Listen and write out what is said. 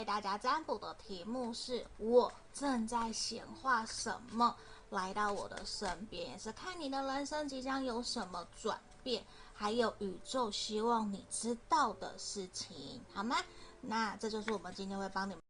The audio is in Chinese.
給大家占卜的題目是：我正在顯化什麼來到我的身邊，也是看你的人生即將有什麼轉變，還有宇宙希望你知道的事情，好嗎？那這就是我們今天會幫你們